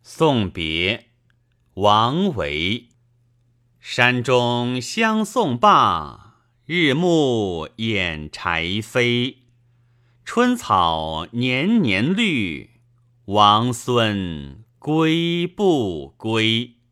送别，王维。山中相送罢，日暮掩柴扉。春草年年绿，王孙归不归？